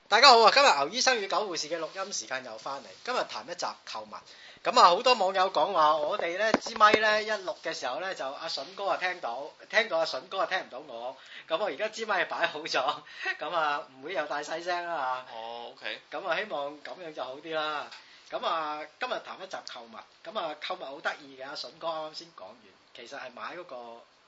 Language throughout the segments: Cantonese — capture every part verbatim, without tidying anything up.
大家好啊！今日牛醫生與狗護士嘅錄音時間又翻嚟，今日談一集購物。咁啊，好多網友講話我哋咧支咪咧一錄嘅時候咧就阿筍哥啊聽到，聽到阿筍哥啊聽唔到我。咁我而家支咪擺好咗，咁啊唔會有大細聲啦嚇。 哦 ，OK。 咁啊希望咁樣就好啲啦。咁啊今日談一集購物，咁啊購物好得意嘅，阿筍哥啱啱先講完，其實係買嗰個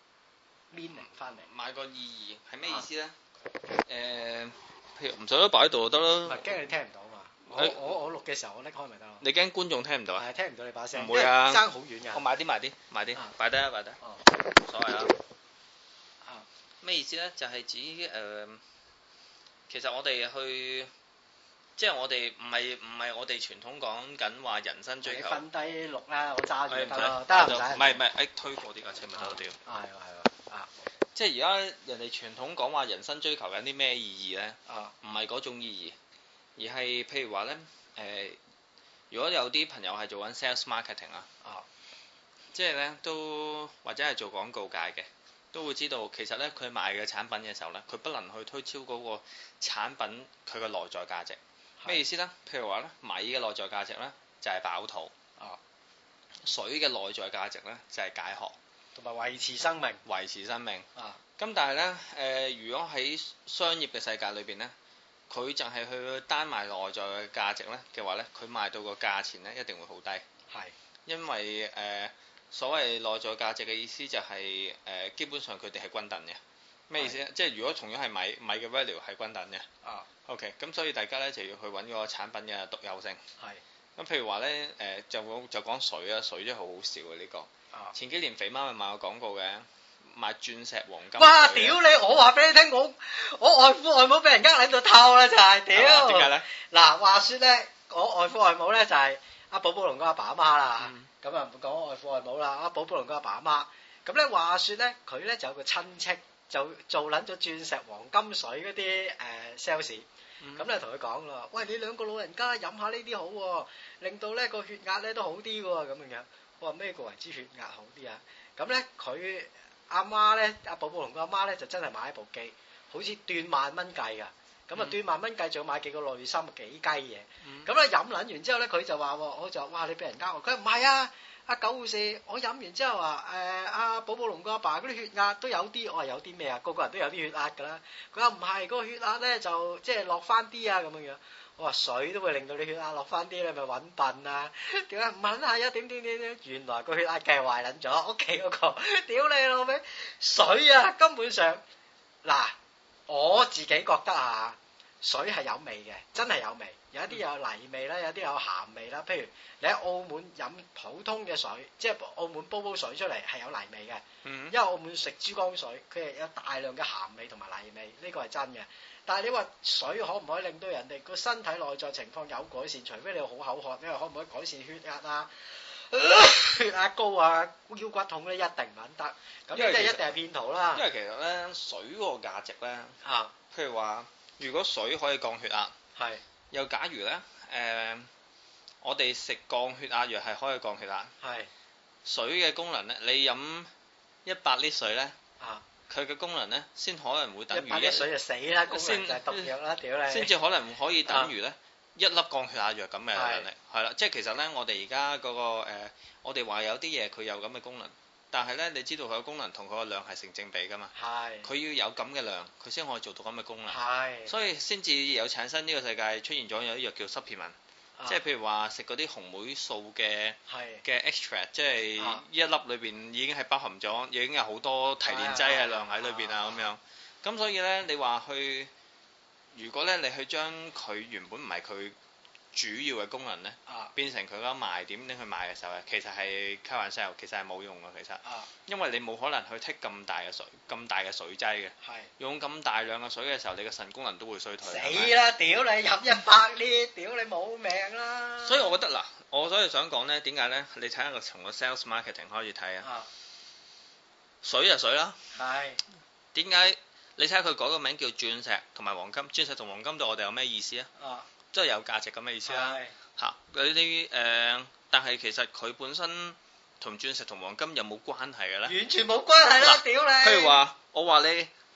meaning 翻嚟。 買個意義係咩意思咧？誒、啊。呃譬如唔使都擺喺度就得啦。 唔係驚你聽唔到嘛？我我我錄嘅時候我拎開咪得咯。 你驚觀眾聽唔到啊？ 係聽唔到你把聲。 唔會啊， 爭好遠㗎。 我買啲買啲買啲，擺低啊擺低。哦。冇所謂啦。啊。咩意思咧？就係、是、指誒、呃，其實我哋去，即係我哋唔係唔係我哋傳統講緊話人生追求。你瞓低錄啦，我揸住得咯。得唔使。唔係唔係，誒推過啲架車咪得咯屌。係喎係喎。啊。即係而家人哋傳統講話人生追求緊啲咩意義咧？啊，唔係嗰種意義，而係譬如話咧，誒、呃，如果有啲朋友係做緊 sales marketing 啊，啊，即係咧都或者係做廣告界嘅，都會知道其實咧佢賣嘅產品嘅時候咧，佢不能去推超嗰個產品佢嘅內在價值。咩意思咧？譬如話咧，米嘅內在價值咧就係飽肚，啊，水嘅內在價值咧就係解渴。 同埋維持生命， 維持生命啊！ 咁但係咧，誒、呃，如果喺商業嘅世界裏邊咧，佢就係去單賣內在嘅價值咧嘅話咧，佢賣到個價錢咧一定會好低。係是，因為誒、呃、所謂內在價值嘅意思就係、是、誒、呃、基本上佢哋係均等嘅。咩意思咧？是即係如果同樣係米米嘅 value 係均等嘅。啊。OK，咁所以大家咧就要去揾個產品嘅獨有性。係是。咁譬如話咧，誒、呃、就就講水啊，水真係好好笑嘅呢、這個。前幾年肥媽咪賣過廣告嘅，賣鑽石黃金。哇！ 屌你！我話俾你聽，我我外父外母俾人呃喺度偷啦，就係屌。 點解咧？ 嗱，話說咧，我外父外母咧就係阿寶寶龍個阿爸阿媽啦。咁啊唔講外父外母啦，阿寶寶龍個阿爸阿媽。咁咧話說咧，佢咧就有個親戚就做撚咗鑽石黃金水嗰啲誒 sales。咁咧同佢講啦，喂，你兩個老人家飲下呢啲好喎，令到咧個血壓咧都好啲喎，咁樣樣。我話咩個為之血壓好啲啊？咁咧佢阿媽咧，阿寶寶龍個阿媽咧就真係買一部機，好似斷萬蚊計㗎。咁啊斷萬蚊計，仲要買幾個濾芯幾雞嘢。咁咧飲撚完之後咧，佢就話：我就話哇你俾人呃我。佢話唔係啊，阿狗護士，我飲完之後話誒阿寶寶龍個阿爸嗰啲血壓都有啲。我話有啲咩啊？個個人都有啲血壓㗎啦。佢話唔係，嗰個血壓咧就即係落翻啲啊咁樣樣。我話水都會令到你血壓落翻啲，你咪揾笨啊！點解唔係啊？點點點點，原來個血壓計壞撚咗，屋企嗰個，屌你老味！水啊，根本上嗱，我自己覺得啊，水係有味嘅，真係有味。有一啲有泥味啦，有啲有鹹味啦。譬如你喺澳門飲普通嘅水，即係澳門煲煲水出嚟係有泥味嘅，嗯、因為澳門食珠江水，佢係有大量嘅鹹味同埋泥味，呢個係真嘅。但係你話水可唔可以令到人哋個身體內在情況有改善？除非你好口渴，你話可唔可以改善血壓啊？血壓高啊，腰骨痛咧一定唔肯得。咁即係一定係騙徒啦。 因為其實咧，水嗰個價值咧，啊，譬如話，如果水可以降血壓，係是，又假如咧，誒、呃，我哋食降血壓藥係可以降血壓，係是，水嘅功能咧，你飲一百升水咧，啊。佢嘅功能咧，先可能會等於一百升水就死啦，功能就係毒藥啦，屌你！先至可能可以等於咧一粒降血壓藥咁嘅能力，係啦，即係其實咧，我哋而家嗰個誒，我哋話有啲嘢佢有咁嘅功能，但係咧，你知道佢嘅功能同佢個量係成正比噶嘛？係。佢要有咁嘅量，佢先可以做到咁嘅功能。係。所以先至有產生呢個世界出現咗有啲藥叫 supplement。即係譬如話食嗰啲紅莓素嘅嘅 extract，即係一粒裏邊已經係包含咗，已經有好多提煉劑嘅量喺裏邊啊咁樣。咁所以咧，你話去，如果咧你去將佢原本唔係佢主要嘅功能咧，啊、變成佢嗰個賣點拎去賣嘅時候咧，其實係開玩笑，其實係冇用嘅其實，啊、因為你冇可能去剔咁大嘅水，咁大嘅水劑嘅，是用咁大量嘅水嘅時候，你嘅腎功能都會衰退。死啦！屌你飲一百呢？屌你冇命啦！所以我覺得嗱，我所以想講咧，點解咧？你睇下個從個 sales marketing 開始睇啊，水就水啦。係點解？你睇下佢改個名叫鑽石同埋黃金，鑽石同黃金對我哋有咩意思啊？啊即係有價值咁嘅意思啦，嚇嗰啲誒，但係其實佢本身同鑽石同黃金有冇關係嘅咧？完全冇關係啦，屌你！譬如話，我話你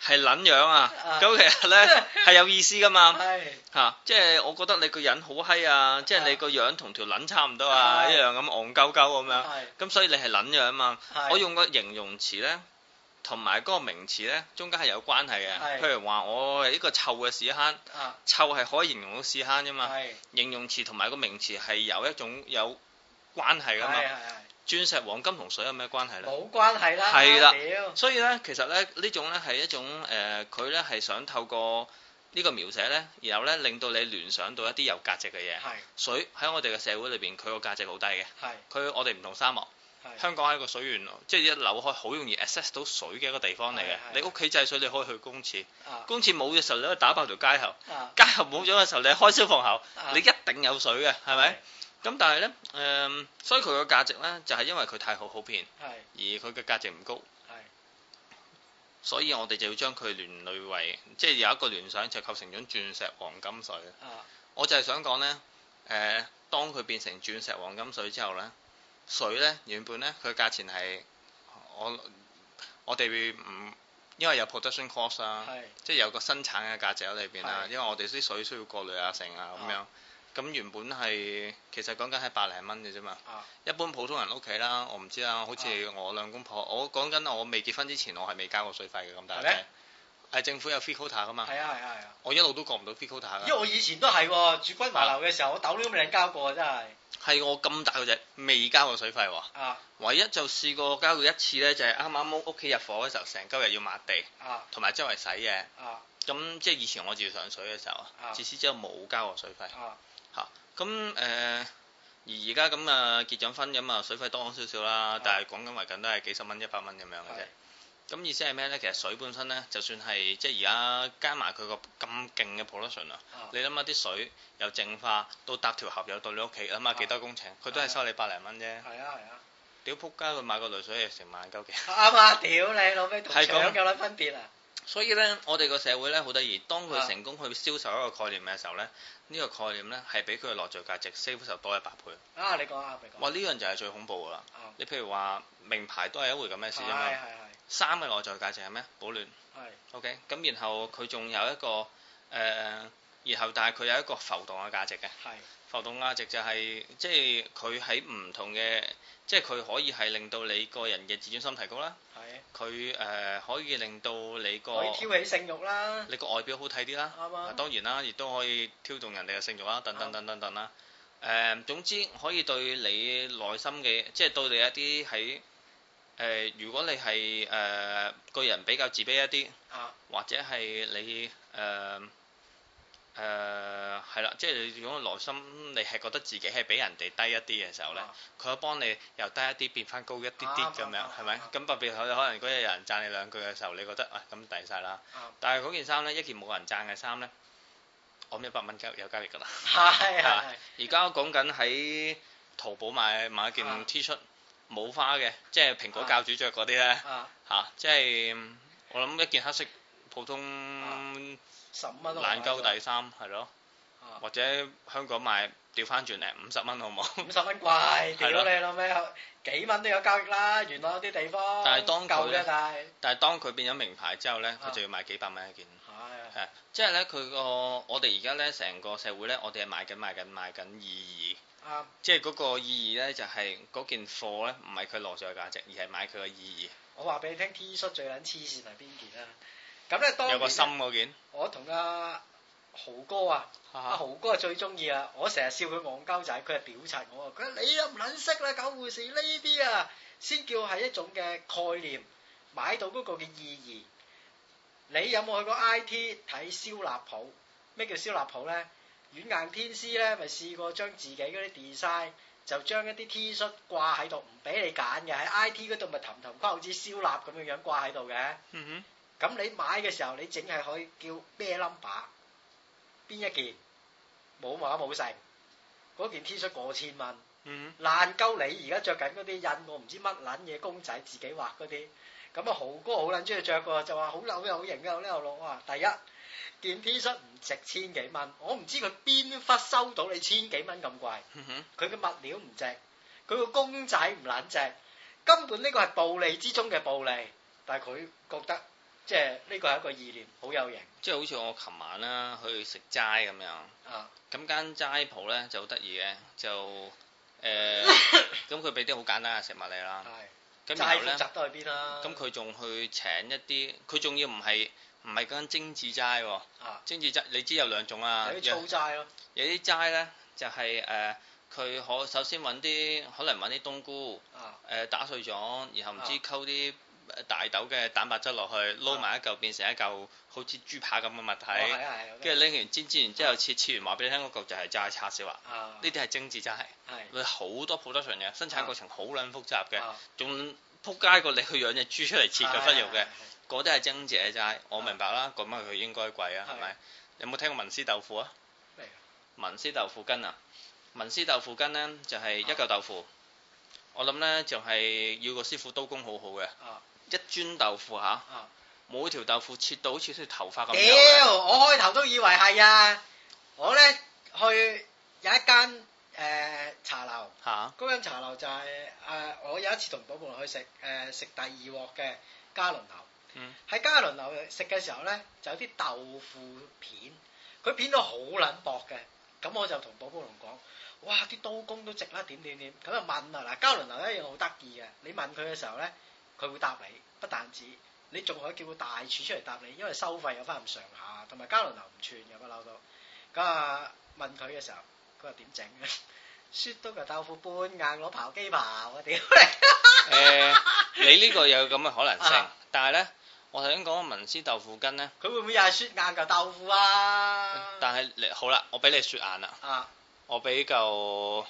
係撚樣啊！咁其實咧係有意思噶嘛，嚇，即係我覺得你個人好閪啊，即係你個樣同條撚差唔多啊，一樣咁戇鳩鳩咁樣，咁所以你係撚樣啊嘛。我用個形容詞咧，同埋嗰個名詞咧，中間係有關係嘅。譬如話我係一個臭嘅屎坑，臭係可以形容到屎坑啫嘛。形容詞同埋個名詞係有一種有關係噶嘛。鑽石、黃金同水有咩關係咧？冇關係啦。係啦，所以咧，其實咧呢種咧係一種誒，佢咧係想透過呢個描寫咧，然後咧令到你聯想到一啲有價值嘅嘢。係水喺我哋嘅社會裏邊，佢個價值好低嘅。係佢我哋唔同沙漠，香港係一個水源，即係一扭開好容易 access 到水嘅一個地方嚟嘅。你屋企制水，你可以去公廁，公廁冇嘅時候你可以打爆條街喉，街喉冇咗嘅時候你開消防喉，你一定有水嘅，係咪？咁但係咧，誒、呃，所以佢個價值咧就係、是、因為佢太好普遍，是而佢嘅價值唔高，是所以我哋就要將佢聯類為，即係有一個聯想就構成咗鑽石、黃金水。啊、我就係想講咧，誒、呃，當佢變成鑽石、黃金水之後咧，水咧原本咧佢價錢係我我哋唔因為有 production cost 啊，是即係有個生產嘅價值喺裏邊啊，是因為我哋啲水需要過濾啊、成啊咁樣。咁原本係其實講緊係百零蚊嘅啫嘛，啊、一般普通人屋企啦，我唔知啦，好似我兩公婆，我講緊我未結婚之前，我係未交過水費嘅咁大隻，係政府有 free quota 噶嘛，係啊係啊係啊，我一路都過唔到 free quota 噶，因為我以前都係住君華樓嘅時候，啊、我豆都未交過真係，係我咁大個隻未交過水費喎，啊、唯一就試過交過一次咧，就係啱啱屋企入伙嘅時候，成鳩日要抹地，同埋、啊、周圍洗嘢，咁、啊、即係以前我照上水嘅時候，啊、自此之後冇交過水費。啊嚇，咁誒、呃、而而家咁啊結咗婚咁啊水費多少少啦，但係講緊為緊都係幾十蚊一百蚊咁樣嘅啫。咁是意思係咩咧？其實水本身咧，就算係即係而家加埋佢個咁勁嘅 production 啊，你諗下啲水由淨化到搭條河又到你屋企，諗下幾多工程，佢都係收你百零蚊啫。係啊係啊，屌仆街佢買個濾水係成萬鳩幾。啱啊！屌你老味同搶有撚分別啊！所以咧，我哋個社會咧好得意，當佢成功去銷售一個概念嘅時候咧，呢、啊、個概念咧係比佢嘅內在價值 save 就多一百倍。啊，你講啊，你講。哇，呢樣就係最恐怖噶啦！啊、你譬如話名牌都係一回咁嘅事啫嘛。係係係。衫嘅內在價值係咩？保暖。係是。OK，咁然後佢仲有一個誒、呃，然後但係佢有一個浮動嘅價值嘅。係是。浮動價值就係、是、即係佢喺唔同嘅。即係佢可以係令到你個人嘅自尊心提高啦，佢誒的、呃、可以令到你個可以挑起性慾啦，你個外表好睇啲啦，啱啊，當然啦，亦都可以挑動人哋嘅性慾啦，等等等等等啦，誒、呃、總之可以對你內心嘅，即係對你一啲喺誒，如果你係誒、呃、個人比較自卑一啲，啊、或者係你誒。呃誒係啦，即係你如果內心你係覺得自己係比人哋低一啲嘅時候咧，佢可以幫你由低一啲變翻高一啲啲咁樣，係咪？咁特別可能嗰日有人讚你兩句嘅時候，你覺得啊咁抵晒啦。但係嗰件衫咧，一件冇人讚嘅衫咧，我一百蚊交有交易㗎啦。係係。而家講緊喺淘寶買買一件 T 恤冇花嘅，即係蘋果教主着嗰啲咧嚇，即係我諗一件黑色普通。十五蚊爛鳩底衫係咯，啊、或者香港賣調翻轉嚟五十蚊好冇？五十蚊貴，屌你老味，幾蚊都有交易啦。原來有啲地方但係當夠嘅，但係但係當佢變咗名牌之後咧，佢、啊、就要賣幾百蚊一件。係係，即係咧佢個我哋而家咧成個社會咧，我哋係賣緊賣緊賣緊意義。啱、啊，即係嗰個意義咧，就係、是、嗰件貨咧，唔係佢內在價值，而係買佢嘅意義。我話俾你聽 ，T 恤最撚黐線係邊件啊？咁咧，當有個心嗰件，我同阿豪哥啊，阿、啊、豪哥係最中意啊！我成日笑佢戇鳩仔，佢係屌柒我啊！佢話你都唔撚識啦，狗護士呢啲啊，先叫係一種嘅概念，買到嗰個嘅意義。你有冇去過 I T 睇燒臘鋪？咩叫燒臘鋪咧？軟硬天師咧，咪試過將自己嗰啲 design 就將一啲 T 恤掛喺度，唔俾你揀嘅，喺 I T 嗰度咪氹氹框好似燒臘咁樣樣掛喺度嘅。嗯哼。咁你買嘅時候，你淨係可以叫咩 number？ 邊一件？冇碼冇成，嗰件 T 恤過千蚊，嗯、爛鳩你而家着緊嗰啲印我唔知乜撚嘢公仔自己畫嗰啲，咁啊豪哥好撚中意着㗎，就話好扭又好型又呢又落啊！第一件 T 恤唔值千幾蚊，我唔知佢邊忽收到你千幾蚊咁貴，佢嘅、嗯、物料唔值，佢個公仔唔撚值，根本呢個係暴利之中嘅暴利，但係佢覺得。 即係呢個係一個意念，好有型。 即係好似我琴晚啦去食齋咁樣。啊。咁間齋鋪咧就好得意嘅，就誒咁佢俾啲好簡單嘅食物你啦。係。咁然後咧， 集都去邊啦？ 咁佢仲去請一啲，佢仲要唔係唔係間精緻齋喎。啊。精緻齋你知有兩種啊。 有啲粗齋咯。有啲齋咧就係、是、誒，佢、呃、可首先揾啲可能揾啲冬菇。啊。誒、呃、打碎咗，然後唔知溝啲。大豆嘅蛋白質落去撈埋一嚿，變成一嚿好似豬扒咁嘅物體，跟住拎完煎煎完之後切切完話俾你聽嗰嚿就係齋叉燒啦。呢啲係精緻齋，係好多 production 嘅，生產過程好撚複雜嘅，仲撲街過你去養隻豬出嚟切嘅忽肉嘅，嗰啲係精緻齋。我明白啦，咁啊佢應該貴啊，係咪？有冇聽過文思豆腐啊？文思豆腐羹啊，文思豆腐羹呢就係一嚿豆腐，我諗呢就係要個師傅刀工好好嘅。一磚豆腐嚇，啊、每條豆腐切到好似條頭髮咁。 屌，我開頭都以為係啊！我咧去有一間誒、呃、茶樓，嚇嗰間茶樓就係、是、誒、呃、我有一次同寶寶去食誒、呃、食第二鑊嘅嘉麟樓。嗯。喺嘉麟樓食嘅時候咧，就有啲豆腐片，佢片到好撚薄嘅，咁我就同寶寶龍講：哇！啲刀工都值啦，點點點。咁就問啊，嗱，嘉麟樓一樣好得意嘅，你問佢嘅時候咧。佢會答你，不但止，你仲可以叫個大廚出嚟答你，因為收費有翻咁上下，同埋嘉麟樓唔串嘅不嬲都。咁啊問佢嘅時候，佢話點整嘅？雪到個豆腐半硬攞刨機刨啊！屌你！ 誒，你呢個有咁嘅可能性，啊、但係咧，我頭先講嘅文思豆腐羹咧， 佢會唔會又係雪硬嚿豆腐啊？ 但係你好啦，我俾你雪硬啦，啊、我俾嚿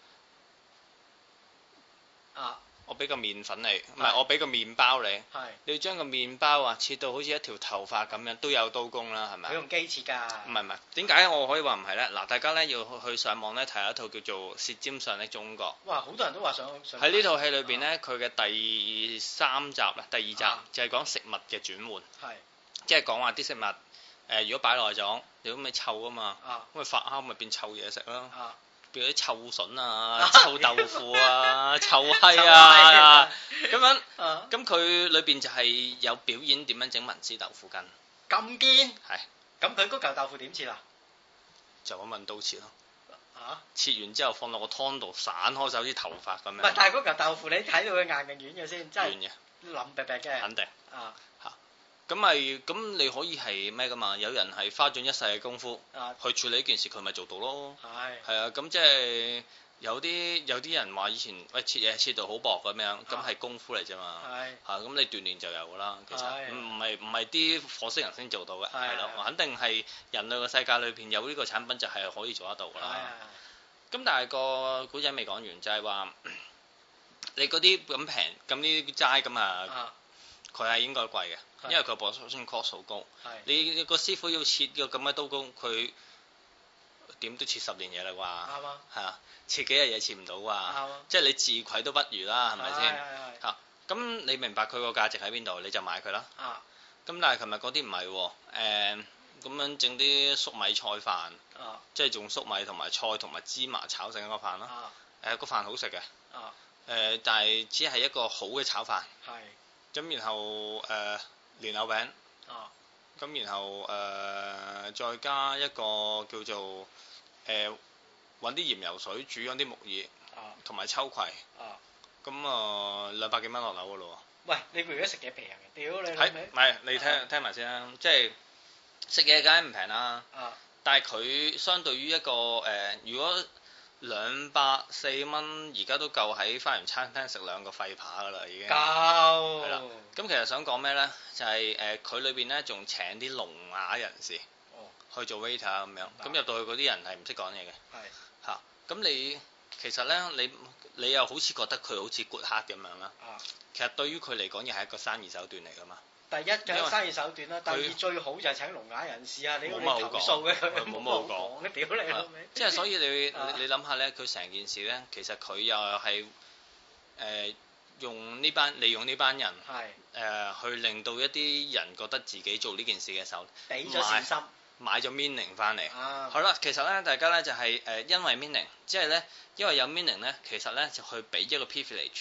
啊。我俾個麵粉你，唔係我俾個麵包你。係。你要將個麵包啊切到好似一條頭髮咁樣，都有刀工啦，係咪？佢用機切㗎。 唔係唔係，點解我可以話唔係咧？嗱，大家咧要去上網咧睇下一套叫做《舌尖上的中國》。 哇！好多人都話想想。 喺呢套戲裏邊咧，佢嘅第三集啦，第二集就係講食物嘅轉換。係。即係講話啲食物，誒，如果擺耐咗，你咁咪臭啊嘛。啊。咁咪發酵咪變臭嘢食咯。啊。譬如啲臭筍啊、臭豆腐啊、臭閪啊咁樣，咁佢裏邊就係有表演點樣整文思豆腐羹。 咁堅？ 係。 咁佢嗰嚿豆腐點切啊？ 就咁問刀切咯。嚇？切完之後放落個湯度散開手啲頭髮咁樣。 唔係，但係嗰嚿豆腐你睇到佢硬定軟嘅先？ 軟嘅。 腍白白嘅。 肯定。啊。嚇。咁咪咁你可以係咩噶嘛？有人係花盡一世嘅功夫去處理呢件事，佢咪做到咯。係係啊，咁即係有啲有啲人話以前喂切嘢切到好薄咁樣，咁係功夫嚟啫嘛。係嚇，咁你鍛鍊就有噶啦。其實唔唔係唔係啲火星人先做到嘅，係咯，肯定係人類嘅世界裏邊有呢個產品就係可以做得到噶啦。咁但係個古仔未講完，就係話你嗰啲咁平咁呢啲齋咁啊。佢係應該貴嘅，因為佢 production cost 好高。係你個師傅要切個咁嘅刀工，佢點都切十年嘢啦啩？啱啊！係啊，切幾日嘢切唔到啩？啱啊！即係你自愧都不如啦，係咪先？係係係。咁你明白佢個價值喺邊度，你就買佢啦。啊！咁但係琴日嗰啲唔係喎，誒咁樣整啲粟米菜飯，啊，即係用粟米同埋菜同埋芝麻炒成一個飯啦。啊！誒個飯好食嘅。啊！誒但係只係一個好嘅炒飯。係。咁然後誒蓮藕餅，啊，咁然後誒、呃、再加一個叫做誒揾啲鹽油水煮咗啲木耳，啊，同埋秋葵，啊，咁啊兩百幾蚊落樓噶咯喎。喂， 你如果食嘢平嘅，屌你係唔係？你聽、啊、聽埋先啦，即係食嘢梗係唔平啦，啊，但係佢相對於一個誒、呃，如果兩百四蚊而家都夠喺花園餐廳食兩個廢扒噶啦，已經夠係啦。咁其實想講咩咧？就係誒佢裏邊咧仲請啲聾啞人士去做 waiter 咁樣，咁入到去嗰啲人係唔識講嘢嘅。係嚇，咁你其實咧你你又好似覺得佢好似 good heart 咁樣啦。啊，其實對於佢嚟講，又係一個生意手段嚟噶嘛。第一嘅生意手段啦，第二最好就係請聾啞人士啊！你你投訴嘅佢冇乜好講，屌你老味！即係所以你你諗下咧，佢成件事咧，其實佢又係誒用呢班利用呢班人係誒去令到一啲人覺得自己做呢件事嘅時候，俾咗善心，買咗 meaning 翻嚟。好啦，其實咧大家咧就係誒因為 meaning，即係咧因為有 meaning 咧，其實咧就去俾一個 privilege。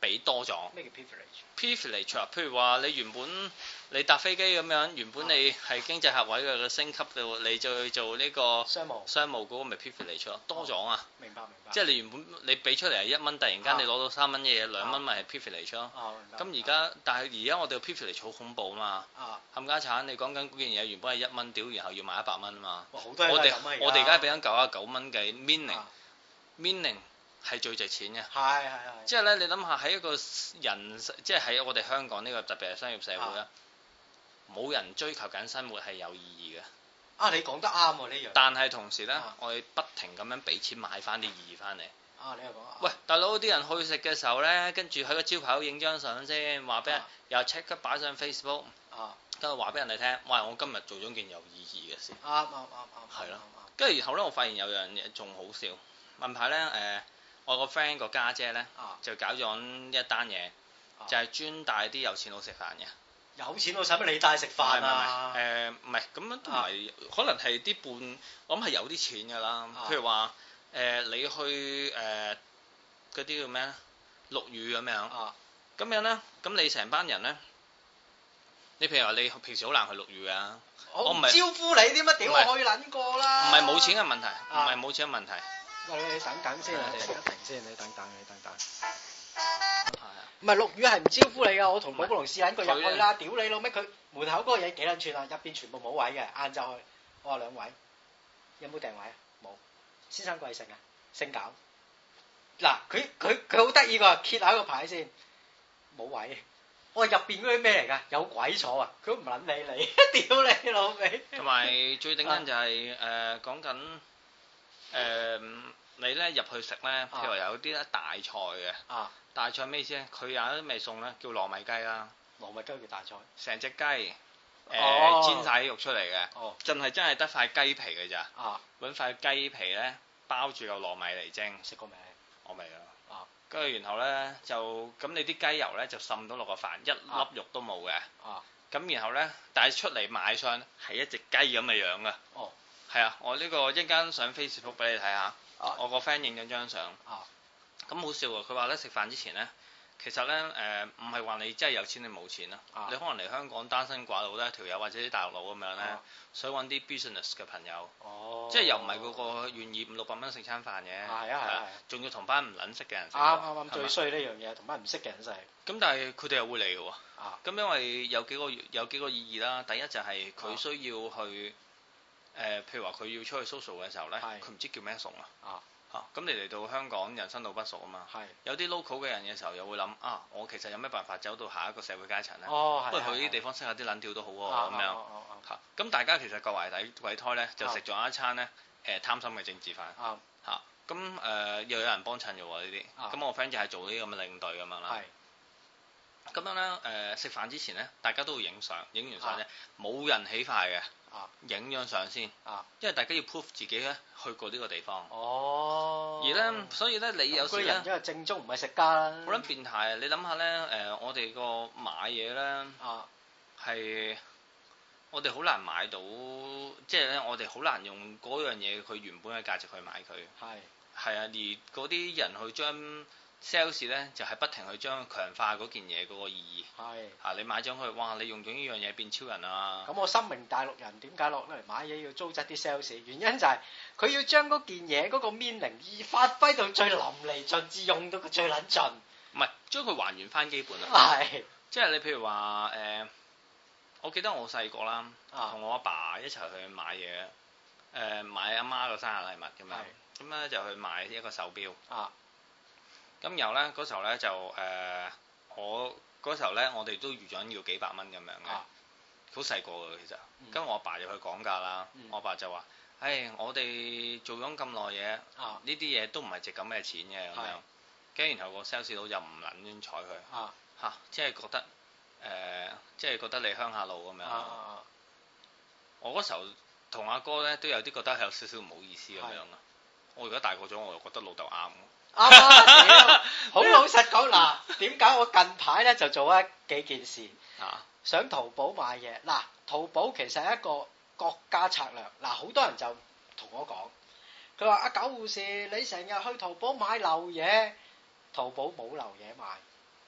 俾多咗。 咩叫 privilege？privilege 啊，譬如話你原本你搭飛機咁樣，原本你係經濟客位嘅升級到，你就去做呢個商務商務嗰個咪 privilege 咯，多咗啊。 明白明白。 即係你原本你俾出嚟係一蚊，突然間你攞到三蚊嘅嘢，兩蚊咪係 privilege 咯。咁而家但係而家我哋個 privilege 好恐怖啊嘛。冚家產，你講緊嗰件嘢原本係一蚊屌，然後要賣一百蚊啊嘛。我哋我哋而家俾緊九啊九蚊嘅 meaning meaning。係最值錢嘅， 係係係。 即係咧，你諗下喺一個人，即係喺我哋香港呢個特別係商業社會咧，冇人追求緊生活係有意義嘅。 啊，你講得啱喎呢樣。 但係同時咧，我哋不停咁樣俾錢買翻啲意義翻嚟。 啊，你又講啊。 喂，大佬啲人去食嘅時候咧，跟住喺個招牌度影張相先，話俾人又 check 佢擺上 Facebook，跟住話俾人哋聽，喂，我今日做咗件有意義嘅事。啱啱啱啱。係咯。跟住然後咧，我發現有樣嘢仲好笑，問牌咧誒。我個 friend 個家姐咧，就搞咗一單嘢，就係專帶啲有錢佬食飯嘅。 有錢佬使乜你帶食飯啊？ 誒唔係咁樣都唔係，可能係啲半，我諗係有啲錢㗎啦。譬如話誒，你去誒嗰啲叫咩咧？陸羽咁樣。咁樣咧，咁你成班人咧，你譬如話你平時好難去陸羽㗎。 我唔招呼你添乜？屌我去撚過啦！ 唔係冇錢嘅問題，唔係冇錢嘅問題。 喂，你等等先啊，停一停先，你等等，你等等。係啊。唔係陸羽係唔招呼你噶，我同寶寶龍試撚過入去啦，屌你老味，佢門口嗰個嘢幾撚串啊，入邊全部冇位嘅，晏晝去，我話兩位，有冇訂位啊？冇。先生貴姓啊？姓搞。嗱，佢佢佢好得意㗎，揭下個牌先，冇位。我話入邊嗰啲咩嚟㗎？有鬼坐啊！佢都唔撚理你，屌你老味。同埋最頂緊就係誒講緊。誒、呃，你咧入去食咧，譬如話有啲咧大菜嘅，啊、大菜咩意思咧？佢有啲味餸咧，叫糯米雞啦。 糯米雞叫大菜。成隻雞，誒、 呃哦、煎晒啲肉出嚟嘅， 哦、 真係真係得塊雞皮嘅咋。 啊， 揾塊雞皮咧包住嚿糯米嚟蒸。 食過未？ 我未啊。啊，跟住然後咧就咁你啲雞油咧就滲到落個飯，一粒肉都冇嘅。啊，咁然後咧，但係出嚟賣相係一隻雞咁嘅樣嘅。哦。係啊，我呢個一陣間上 Facebook 俾你睇下，啊、我個 friend 影咗張相，咁好笑喎！佢話咧食飯之前咧，其實咧誒唔係話你真係有錢定冇錢啊，你可能嚟香港單身寡佬咧，條友或者啲大陸佬咁樣咧，啊、想揾啲 business 嘅朋友，哦、即係又唔係嗰個願意五六百蚊食餐飯嘅，係啊係啊，仲要同班唔撚識嘅人食，啱啱啱最衰呢樣嘢，同班唔識嘅人食。咁但係佢哋又會嚟嘅喎，咁、啊、因為有幾個有幾個意義啦，第一就係佢需要去。誒、呃，譬如話佢要出去 social 嘅時候咧，佢唔是知叫咩餸啊，啊嚇，咁、啊、你嚟到香港人生路不熟啊嘛，是有啲 local 嘅人嘅時候又會諗啊，我其實有咩辦法走到下一個社會階層咧？哦，不過去啲地方識下啲撚調都好喎，咁樣嚇，咁大家其實各懷底鬼胎咧，就食咗一餐咧誒貪心嘅政治飯，嚇，咁誒又有人幫襯嘅喎呢啲，咁、啊、我 friend 就係做呢啲咁嘅領隊咁樣啦。咁樣咧，誒、呃、食飯之前咧，大家都會影相，影完相咧冇、啊、人起筷嘅，影張相先，啊、因為大家要 prove 自己咧去過呢個地方。哦。而咧，所以咧，你有時咧，因為正宗唔係食家啦。好撚變態啊！你諗下咧，誒、呃，我哋個買嘢咧，係、啊、我哋好難買到，即係咧，我哋好難用嗰樣嘢佢原本嘅價值去買佢。係是。係啊，而嗰啲人去將。sales 咧就係、是、不停去將強化嗰件嘢嗰個意義，係嚇是、啊、你買咗佢，哇！你用咗呢樣嘢變超人啊！咁我深明大陸人點解落嚟買嘢要糟質啲 sales？原因就係佢要將嗰件嘢嗰個 meaning 意發揮到最淋漓盡致，用到佢最撚盡。唔係將佢還原翻基本啊！係是，即係你譬如話誒、呃，我記得我細個啦，同、啊、我阿爸，爸一齊去買嘢，誒、呃、買阿媽個生日禮物咁樣，咁咧是就去買一個手錶。啊。咁然後咧嗰時候咧就誒、呃、我嗰時候咧我哋都預咗要幾百蚊咁樣嘅，好細個嘅其實。跟住、嗯、我阿爸就去講價啦，嗯、我阿爸就話：，誒、hey, 我哋做咗咁耐嘢，呢啲嘢都唔係值咁嘅錢嘅咁樣。跟住然後個 sales 佬就唔撚睬佢，嚇、啊，即係覺得誒，即、呃、係、就是、覺得你鄉下路咁樣。啊、我嗰時候同阿哥咧都有啲覺得係有少少唔好意思咁樣啊。的我而家大個咗，我又覺得老豆啱。啱啊！好老實講嗱，點解我近排咧就做一幾件事？啊，上淘寶買嘢嗱，淘寶其實係一個國家策略嗱，好多人就同我講，佢話阿九護士，你成日去淘寶買流嘢，淘寶冇流嘢賣，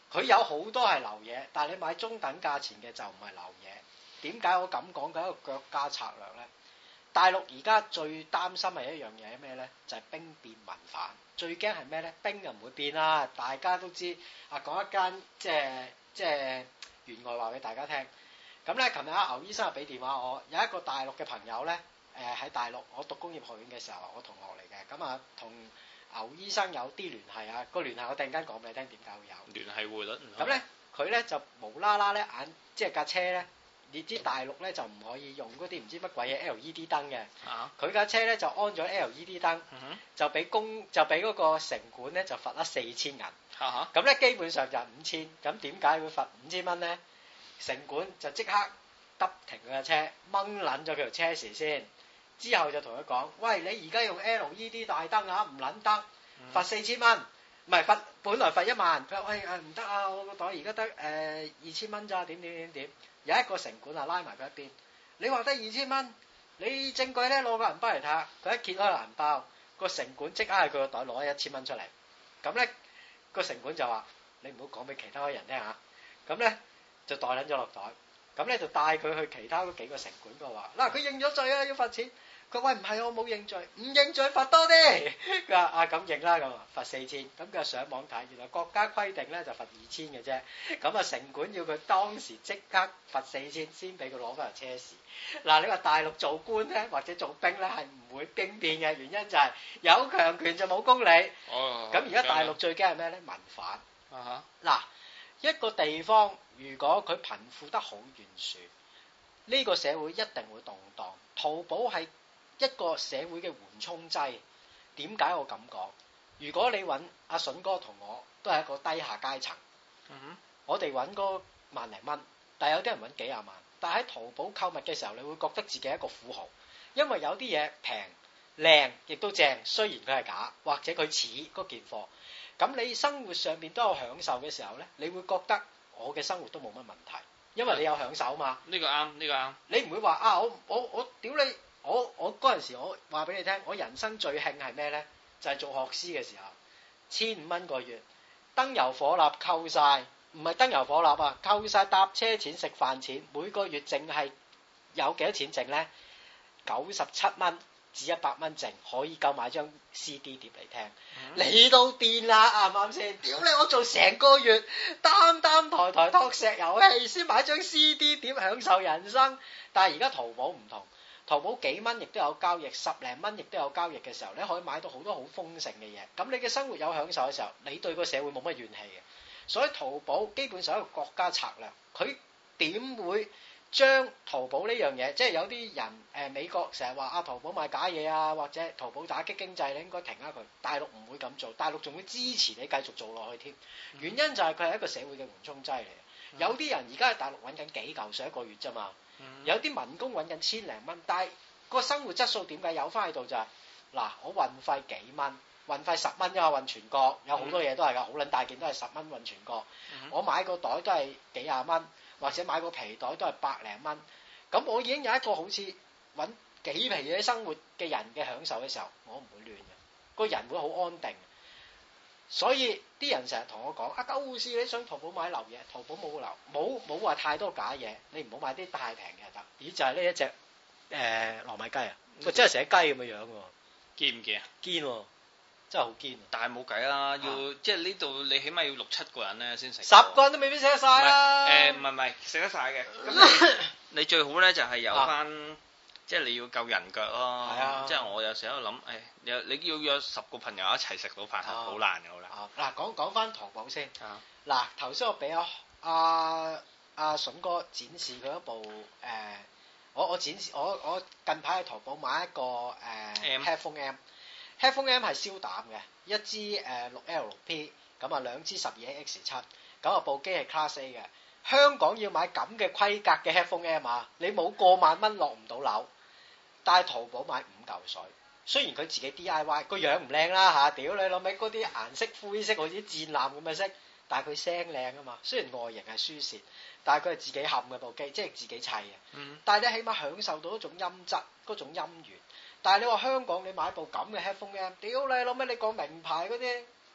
佢有好多係流嘢，但係你買中等價錢嘅就唔係流嘢。點解我咁講嘅一個腳家策略咧？大陸而家最擔心係一樣嘢咩咧？就係、是、兵變民反。最驚係咩咧？兵就唔會變啦，大家都知。啊，講一間即係即係員外話俾大家聽。咁咧，琴日阿牛醫生又俾電話我，有一個大陸嘅朋友咧，誒、呃、喺大陸，我讀工業學院嘅時候，我同學嚟嘅，咁啊同牛醫生有啲聯繫啊。個聯繫我突然間講俾你聽，點解會有聯繫匯率？ 咁咧，佢咧就無啦啦咧眼，即係架車咧。你知大陸咧就唔可以用嗰啲唔知乜鬼嘢 L E D 燈嘅，佢架、啊、車咧就安咗 L E D 燈，嗯、哼就俾公就俾嗰個城管咧就罰咗四千銀，咁咧、啊、基本上就係五千，咁點解會罰五千蚊咧？城管就即刻揼停佢架車，掹撚咗佢條車匙先，之後就同佢講：喂，你而家用 L E D 大燈啊，唔撚得，罰四千蚊，唔係罰，本來罰一萬，佢話喂誒唔得啊，我個袋而家得誒二千蚊咋，點點點點。有一個城管啊，拉埋佢一邊。你話得二千蚊，你證據咧攞個銀包嚟睇下。佢一揭開個銀包，個城管即刻喺佢個袋攞一千蚊出嚟。咁咧個城管就話：你唔好講俾其他人聽下。咁咧就袋撚咗落袋。咁咧就帶佢去其他嗰幾個城管度話：嗱，佢認咗罪啊，要罰錢。佢話喂，唔係我冇認罪，唔認罪罰多啲。佢話啊咁認啦，咁罰四千。咁佢上網睇，原來國家規定咧就罰二千嘅啫。咁啊城管要佢當時即刻罰四千先俾佢攞翻條車匙。嗱，你話大陸做官咧或者做兵咧係唔會兵變嘅，原因就係有強權就冇公理。哦。咁而家大陸最驚係咩咧？民反。啊哈。嗱，一個地方如果佢貧富得好懸殊，呢個社會一定會動盪。淘寶係一個社會嘅緩衝劑，點解我咁講？如果你揾阿筍哥同我都係一個低下階層，嗯、哼我哋揾個萬零蚊，但係有啲人揾幾廿萬，但係喺淘寶購物嘅時候，你會覺得自己係一個富豪，因為有啲嘢平、靚，亦都正，雖然佢係假，或者佢似嗰件貨，咁你生活上面都有享受嘅時候咧，你會覺得我嘅生活都冇乜問題，因為你有享受嘛。呢個啱，呢個啱。你唔會話啊，我我我屌你！我我嗰陣時我話俾你聽，我人生最興係咩咧？就係、是、做學師嘅時候，千五蚊個月，燈油火蠟扣晒，唔係燈油火蠟啊，扣晒搭車錢、食飯錢，每個月淨係有幾多錢剩咧？九十七蚊至一百蚊剩，可以夠買張 C D 碟嚟聽。嗯、你都癲啦，啱唔啱先？屌你！我做成個月擔擔抬抬托石油氣，先買張 C D 碟享受人生。但係而家淘寶唔同。淘寶幾蚊亦都有交易，十零蚊亦都有交易嘅時候，你可以買到好多好豐盛嘅嘢。咁你嘅生活有享受嘅時候，你對個社會冇乜怨氣嘅。所以淘寶基本上係一個國家策略，佢點會將淘寶呢樣嘢？即係有啲人誒、呃、美國成日話啊淘寶賣假嘢啊，或者淘寶打擊經濟，你應該停下佢。大陸唔會咁做，大陸仲會支持你繼續做落去添。原因就係佢係一個社會嘅緩衝劑嚟。有啲人而家喺大陸揾緊幾嚿水一個月啫嘛。有啲民工揾緊千零蚊，但係個生活質素點解有翻喺度就係、是、嗱，我運費幾蚊，運費十蚊啫嘛，運全國有好多嘢都係㗎，好撚大件都係十蚊運全國。嗯、我買個袋都係幾廿蚊，或者買個皮袋都係百零蚊。咁我已經有一個好似揾幾皮嘢生活嘅人嘅享受嘅時候，我唔會亂嘅，個人會好安定。所以啲人成日同我講啊，狗護士你想淘寶買流嘢，淘寶冇流，冇冇話太多假嘢，你唔好買啲太平嘅得。咦，就係呢一隻誒糯米雞啊，喂、嗯，真係成隻雞咁嘅樣喎，堅唔堅啊？堅喎，真係好堅。但係冇計啦，要、啊、即係呢度你起碼要六七個人咧先食。十個人都未必食得晒啦。誒唔係唔係食得晒嘅，咁你最好咧就係有翻。啊即係你要夠人腳咯，啊、即係我有時喺度諗，誒、哎，你你要約十個朋友一齊食到飯係好難嘅，好難。嗱，講講翻淘寶先。嗱，頭先我俾阿阿阿筍哥展示佢一部誒、呃，我我展示我我近排喺淘寶買一個誒、呃、M. headphone M，headphone M 係燒膽嘅，一支誒六 L 六 P， 咁啊兩支十二 X 七，咁啊部機係 Class A 嘅。香港要買咁嘅規格嘅 headphone M 啊，你冇過萬蚊落唔到樓。但係淘寶買五嚿水，雖然佢自己 D I Y 個樣唔靚啦嚇，屌你老味嗰啲顏色灰色好似戰艦咁嘅色，但係佢聲靚啊嘛。雖然外形係輸蝕，但係佢係自己冚嘅部機，即係自己砌嘅。嗯、但係你起碼享受到一種音質，嗰種音源。但係你話香港你買部咁嘅 headphone M，屌你老味你講名牌嗰啲，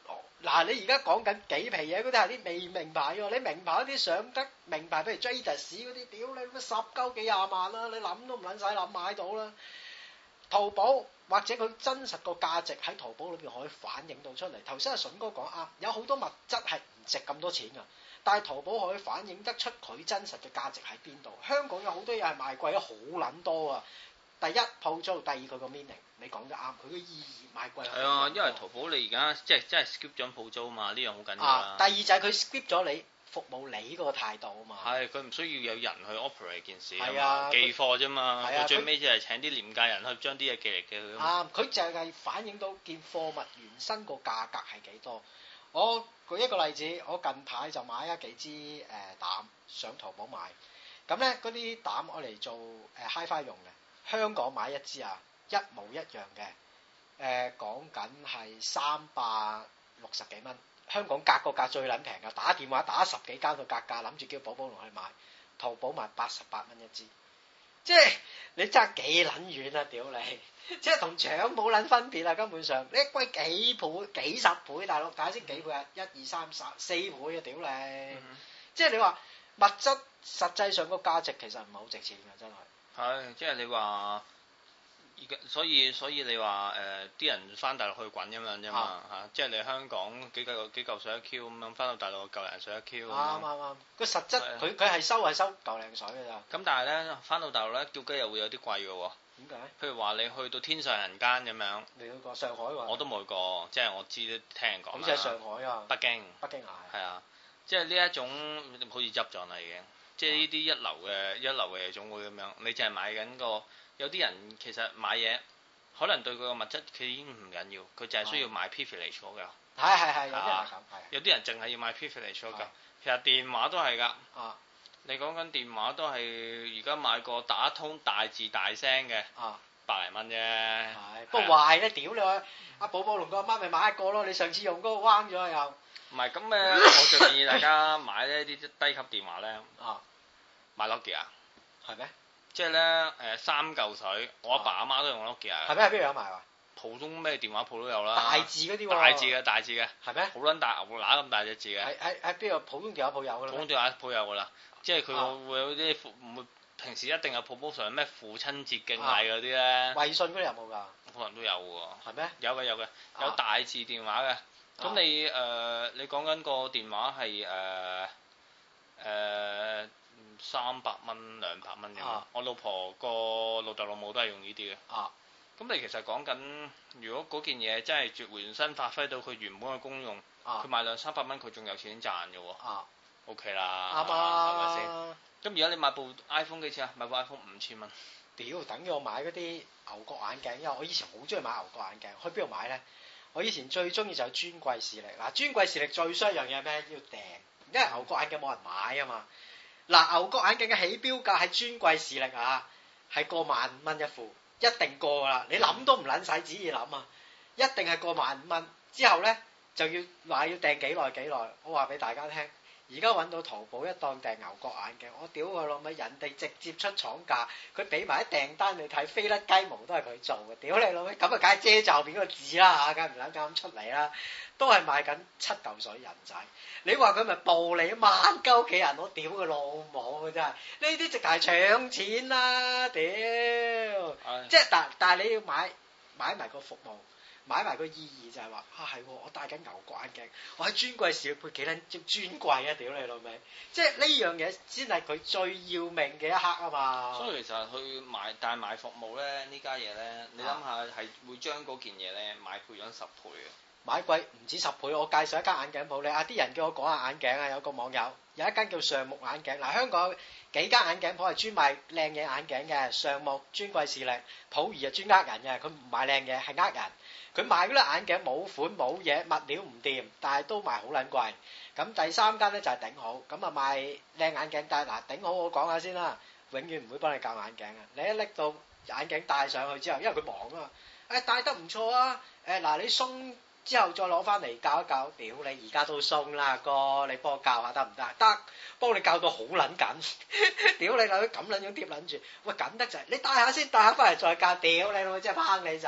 嗱，你而家講緊幾皮嘢嗰啲係啲未名牌喎，你名牌嗰啲上得名牌，譬如 Jadis 嗰啲，屌你乜十鳩幾廿萬啦，你諗都唔撚使諗買到啦。淘寶或者佢真實個價值喺淘寶裏邊可以反映到出嚟。頭先阿筍哥講啱，有好多物質係唔值咁多錢㗎，但係淘寶可以反映得出佢真實嘅價值喺邊度。香港有好多嘢係賣貴咗好撚多啊！第一鋪租，第二佢個 meaning，你講得啱，佢嘅意義賣貴。係啊，因為淘寶你而家即係即係 skip 咗鋪租嘛，呢樣好緊要啦。第二就係佢 skip 咗你服務你嗰個態度啊嘛。係， 佢唔需要有人去 operate 件事啊嘛，寄貨啫嘛。佢最尾就係請啲廉價人去將啲嘢寄嚟寄去。 啱，佢就係反映到件貨物原身個價格係幾多。我舉一個例子，我近排就買咗幾支誒膽上淘寶買，咁咧嗰啲膽我嚟做誒 Hi-Fi 用嘅。香港買一支啊，一模一樣嘅，誒講緊係三百六十幾蚊，香港格個價最撚平噶，打電話打十幾間個格價，諗住叫寶寶龍去買，淘寶賣八十八蚊一支，即係你爭幾撚遠啊！屌你，即係同搶冇撚分別啊！根本上你貴幾倍、幾十倍，大佬解釋幾倍啊？一二三十四倍啊！屌你，嗯、即係你話物質實際上個價值其實唔係好值錢㗎，真係。 係，即係你話，而家所以所以你話誒啲人翻大陸去滾咁樣啫嘛嚇，即係你香港幾嚿幾嚿水一 Q 咁樣，翻到大陸嚿零水一 Q 咁樣。啱啱啱， 個實質佢佢係收係收嚿零水㗎咋。 咁但係咧，翻到大陸咧，叫雞又會有啲貴㗎喎。 點解？ 譬如話你去到天上人間咁樣。 你去過上海喎？我都冇去過，即係我知聽人講。好似係上海啊。北京。北京啊。係啊， 即係呢一種好似執咗啦已經。即係呢啲一流嘅一流嘅夜總會咁樣，你淨係買緊個，有啲人其實買嘢可能對佢個物質佢已經唔緊要，佢淨係需要買 privilege 嗰個。 係係係，有啲人係咁，係。 有啲人淨係要買 privilege 嗰個，其實電話都係㗎。啊。你講緊電話都係而家買個打通大字大聲嘅。啊。百零蚊啫。係。不過壞咧，屌你啊！阿寶寶龍個阿媽咪買一個咯，你上次用嗰個彎咗又。唔係咁誒，我就建議大家買呢啲低級電話咧。啊。買 Nokia 啊？係咩？即係咧誒三嚿水，我阿爸阿媽都用 Nokia 啊。係咩？喺邊度有賣啊？普通咩電話鋪都有啦。大字嗰啲喎。大字嘅大字嘅。係咩？好撚大牛乸咁大隻字嘅。喺喺喺邊個普通電話鋪有㗎啦？普通電話鋪有㗎啦，即係佢會有啲唔會平時一定有 promotion 咩父親節敬禮嗰啲咧。微信嗰啲有冇㗎？可能都有喎。係咩？有嘅有嘅，有大字電話嘅。咁你誒你講緊個電話係誒誒三百蚊兩百蚊咁，我老婆個老豆老母都係用呢啲嘅。啊，咁你其實講緊，如果嗰件嘢真係絕回原身發揮到佢原本嘅功用，佢賣兩三百蚊，佢仲有錢賺嘅喎。啊 ，OK 啦，啱啊，係咪先？咁而家你買部 iPhone 幾錢啊？買部 iPhone 五千蚊。屌，等於我買嗰啲牛角眼鏡，因為我以前好中意買牛角眼鏡，去邊度買咧？我以前最中意就係專櫃視力，嗱專櫃視力最衰一樣嘢係咩？要訂，因為牛角眼鏡冇人買啊嘛。嗱牛角眼鏡嘅起標價係專櫃視力啊，係過萬五蚊一副，一定過噶啦，你諗都唔撚使旨意諗啊，一定係過萬五蚊。之後咧就要話要訂幾耐幾耐，我話俾大家聽。而家揾到淘寶一檔訂牛角眼鏡，我屌佢老味，人哋直接出廠價，佢俾埋啲訂單你睇，飛甩雞毛都係佢做嘅，屌你老味，咁啊梗係遮罩邊個字啦嚇，梗係唔撚咁出嚟啦，都係賣緊七嚿水人仔，你話佢咪暴利萬鳩屋企人，我屌佢老母嘅真係，呢啲直頭係搶錢啦，屌，哎、即係但但係你要買買埋個服務。買埋個意義就係話啊係，我戴緊牛角眼鏡，我喺專櫃時配幾撚專櫃啊！屌你老味，即係呢樣嘢先係佢最要命嘅一刻啊嘛。所以其實去買但係買服務咧呢家嘢咧，你諗下係會將嗰件嘢咧買倍咗十倍嘅。買貴唔止十倍，我介紹一間眼鏡鋪你啊啲人叫我講下眼鏡啊，有個網友有一間叫上木眼鏡，嗱香港有幾間眼鏡鋪係專賣靚嘢眼鏡嘅，上木專櫃視力，普儀啊專呃人嘅，佢唔賣靚嘢係呃人。佢賣嗰啲眼鏡冇款冇嘢，物料唔掂，但係都賣好撚貴。咁第三間咧就係頂好，咁啊賣靚眼鏡，但係嗱頂好我講下先啦，永遠唔會幫你校眼鏡啊！你一拎到眼鏡戴上去之後，因為佢忙啊嘛，誒戴得唔錯啊，誒嗱你鬆之後再攞翻嚟校一校，屌你而家都鬆啦哥，你幫我校下得唔得？得，幫你校到好撚緊，屌你老母咁撚樣貼撚住，喂緊得滯，你戴下先，戴下翻嚟再校，屌你老母真係拚你走。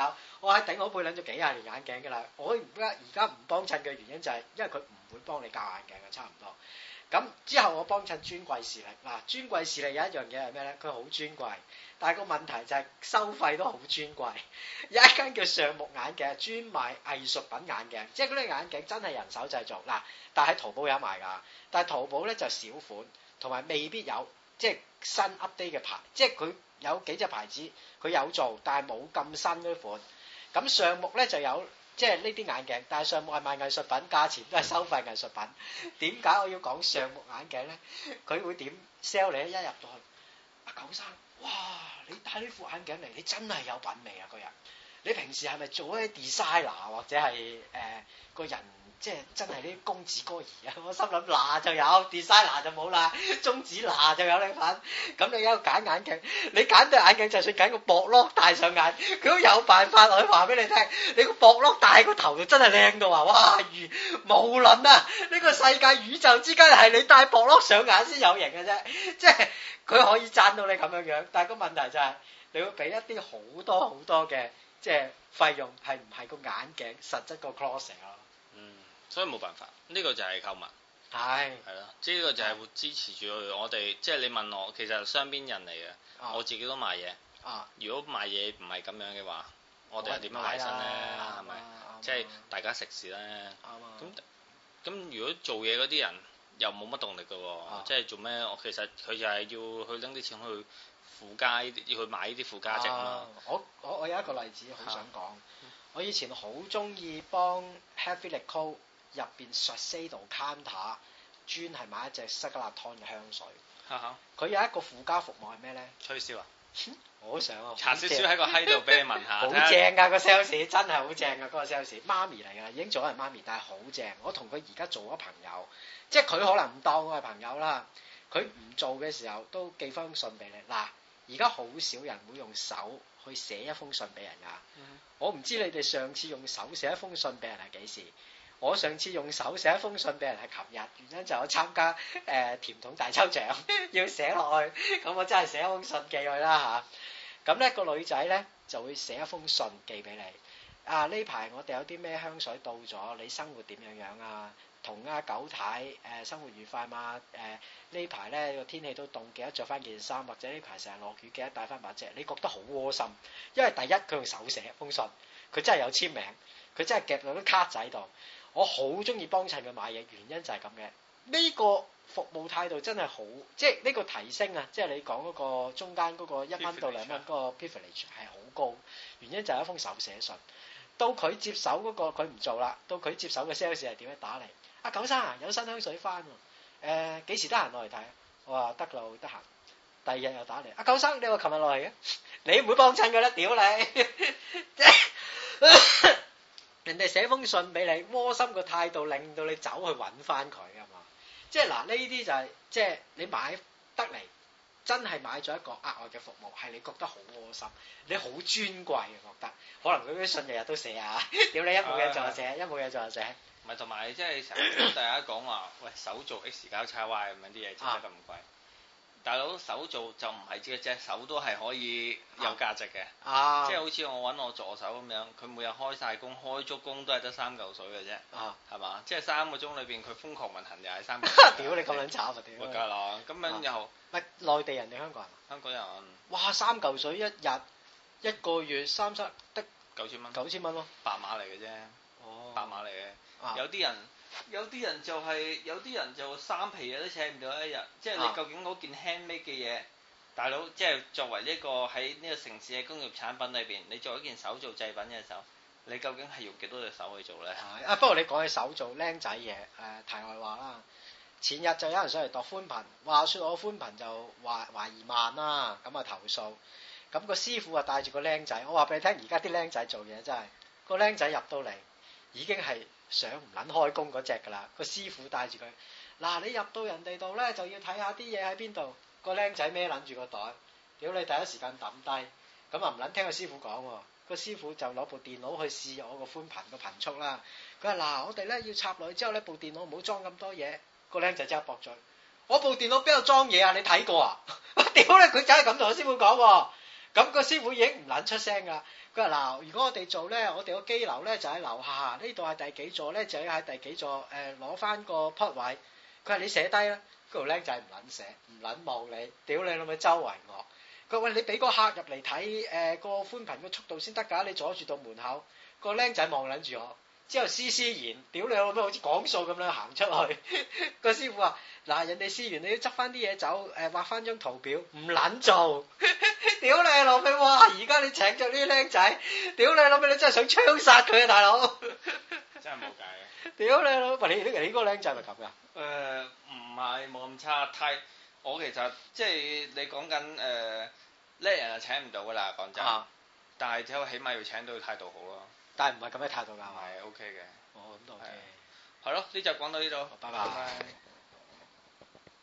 我喺頂好配撚咗幾廿年眼鏡㗎啦。我而家而家唔幫襯嘅原因就係因為佢唔會幫你校眼鏡嘅，差唔多。咁之後我幫襯專櫃視力嗱，專櫃視力有一樣嘢係咩咧？佢好專櫃，但係個問題就係收費都好專貴。有一間叫橡木眼鏡，專賣藝術品眼鏡，即係嗰啲眼鏡真係人手製造嗱，但係喺淘寶有賣㗎，但係淘寶咧就少款，同埋未必有即係新 update 嘅牌，即係佢有幾隻牌子佢有做，但係冇咁新嗰款。咁橡木咧就有。即係呢啲眼鏡，但係橡木係賣藝術品，價錢都係收費藝術品。點解我要講橡木眼鏡咧？佢會點 sell 你？一入到去，阿九生，哇！你戴呢副眼鏡嚟，你真係有品味啊！個人，你平時係咪做一啲 designer 或者係誒、呃、個人？即係真係啲公子哥兒啊！我心諗嗱就有 designer 就冇啦，中指嗱就有你份。咁你有揀眼鏡，你揀對眼鏡就算揀個薄碌戴上眼，佢都有辦法可以話俾你聽。你個薄碌戴個頭就真係靚到話，哇！如無論啊，呢、這個世界宇宙之間係你戴薄碌上眼先有型嘅啫。即係佢可以讚到你咁樣樣，但係個問題就係、是、你要俾一啲好多好多嘅即係費用，係唔係個眼鏡實質個 closet 咯？ 嗯。所以冇辦法，呢、這個就係購物， 係係咯，即係呢個就係會支持住我哋。即係你問我，其實雙邊人嚟嘅，啊、我自己都賣嘢。啊，如果賣嘢唔係咁樣嘅話，我哋係點樣維生咧？係咪？即係大家食事咧。咁咁，如果做嘢嗰啲人又冇乜動力嘅喎，啊、即係做咩？我其實佢就係要去拎啲錢去附加，要去買呢啲附加值啊嘛。 我我我有一個例子好想講，啊、我以前好中意幫 Happy Lico。入邊 Shiseido counter 專係買一隻塞格納湯嘅香水，佢有一個附加服務係咩咧？ 吹簫啊！ 我好想啊！ 搽少少喺個閪度俾你聞下， 好正噶個 sales， 真係好正噶嗰個 sales， 媽咪嚟噶，已經做咗人媽咪，但係好正。我同佢而家做咗朋友，即係佢可能唔當我係朋友啦。佢唔做嘅時候都寄封信俾你。嗱，而家好少人會用手去寫一封信俾人噶。嗯、我唔知你哋上次用手寫一封信俾人係幾時？我上次用手寫一封信俾人係琴日，原因就我參加誒、呃、甜筒大抽獎要寫落去，咁我真係寫一封信寄去啦嚇。咁、啊、咧、那個女仔咧就會寫一封信寄俾你。啊，呢排我哋有啲咩香水到咗，你生活點樣樣啊？同阿九太誒、呃、生活愉快嘛？誒、呃、呢排咧個天氣都凍，記得着翻件衫，或者呢排成日落雨，記得帶翻把遮。你覺得好窩心，因為第一佢用手寫一封信，佢真係有簽名，佢真係夾到啲卡仔度。我好中意幫襯佢買嘢，原因就係咁嘅。呢、這個服務態度真係好，即係呢個提升啊！即係你講嗰個中間嗰個一蚊到兩蚊嗰個 privilege 係好高，原因就係一封手寫信。到佢接手嗰、那個佢唔做啦，到佢接手嘅 sales 係點樣打嚟？阿、啊、九生啊，有新香水翻喎，誒、呃、幾時得閒落嚟睇？我話得啦，得閒。第二日又打嚟，阿、啊、九生你話琴日落嚟嘅，你唔會幫襯佢啦，屌你！人哋寫封信俾你，窩心個態度令到你走去揾翻佢啊嘛！即係嗱，呢啲就係、是、即係你買得嚟，真係買咗一個額外嘅服務，係你覺得好窩心，你好尊貴嘅覺得。可能佢啲信日日都寫啊，屌你一冇嘢做就寫，一冇嘢做就寫。 唔係同埋即係成日大家講話，喂手做 X 交叉 Y 咁樣啲嘢，整得咁貴。啊大佬手做就唔係隻隻手都係可以有價值嘅，啊、即係好似我揾我助手咁樣，佢每日開晒工，開足工都係得三嚿水嘅啫，係嘛、啊？即係三個鐘裏邊佢瘋狂運行又係三嚿水。屌你咁撚慘啊！屌！梗係啦，咁樣又唔係內地人定香港人？ 香港人。 哇！三嚿水一日一個月三七得九千蚊。 九千蚊咯， 白馬嚟嘅啫。哦。白馬嚟嘅，啊、有啲人。有啲人就係、是、有啲人就三皮嘢都請唔到一日，即係你究竟嗰件 handmade 嘅嘢，大佬即係作為呢個喺呢個城市嘅工業產品裏邊，你做一件手做製品嘅時候，你究竟係用幾多隻手去做咧？啊，不過你講起手做僆仔嘢，誒、呃、題外話啦。前日就有人上嚟度寬頻，話說我寬頻就話懷疑慢啦，咁啊投訴，咁個師傅啊帶住個僆仔，我話俾你聽，而家啲僆仔做嘢真係，個僆仔入到嚟已經係。想唔撚開工嗰隻㗎啦，個師傅帶住佢，嗱你入到人哋度咧就要睇下啲嘢喺邊度，個僆仔孭撚住個袋，屌你第一時間抌低，咁啊唔撚聽個師傅講喎，個師傅就攞部電腦去試我個寬頻個頻速啦，佢話嗱我哋咧要插落去之後咧部電腦唔好裝咁多嘢，個僆仔即刻駁嘴，我部電腦邊度裝嘢啊？你睇過啊？屌你佢真係咁同個師傅講喎，咁個師傅已經唔撚出聲㗎。 佢話嗱，如果我哋做咧，我哋個機樓咧就喺樓下，呢度係第幾座咧，就要喺第幾座誒攞翻個 plot 位。佢話你寫低啦，嗰條僆仔唔撚寫，唔撚望你，屌你老味周圍我。佢話喂，你俾個客入嚟睇誒個寬頻個速度先得㗎，你阻住到門口。個僆仔望撚住我，之後施施然，屌你老味好似講數咁樣行出去。個師傅話嗱，人哋試完你要執翻啲嘢走，誒畫翻張圖表，唔撚做。屌你老味，哇！而家你請咗呢啲僆仔，屌你老味，你真係想槍殺佢啊，大佬！ 真係冇計嘅。 屌你老味，你你你嗰個僆仔係咪咁噶？ 誒唔係冇咁差，太我其實即係你講緊誒叻人就請唔到噶啦，講真。啊、但係只有起碼要請到態度好咯。 但係唔係咁嘅態度㗎。 係 OK 嘅。 哦，咁都 OK。 係咯，呢集講到呢度， 拜拜。拜拜。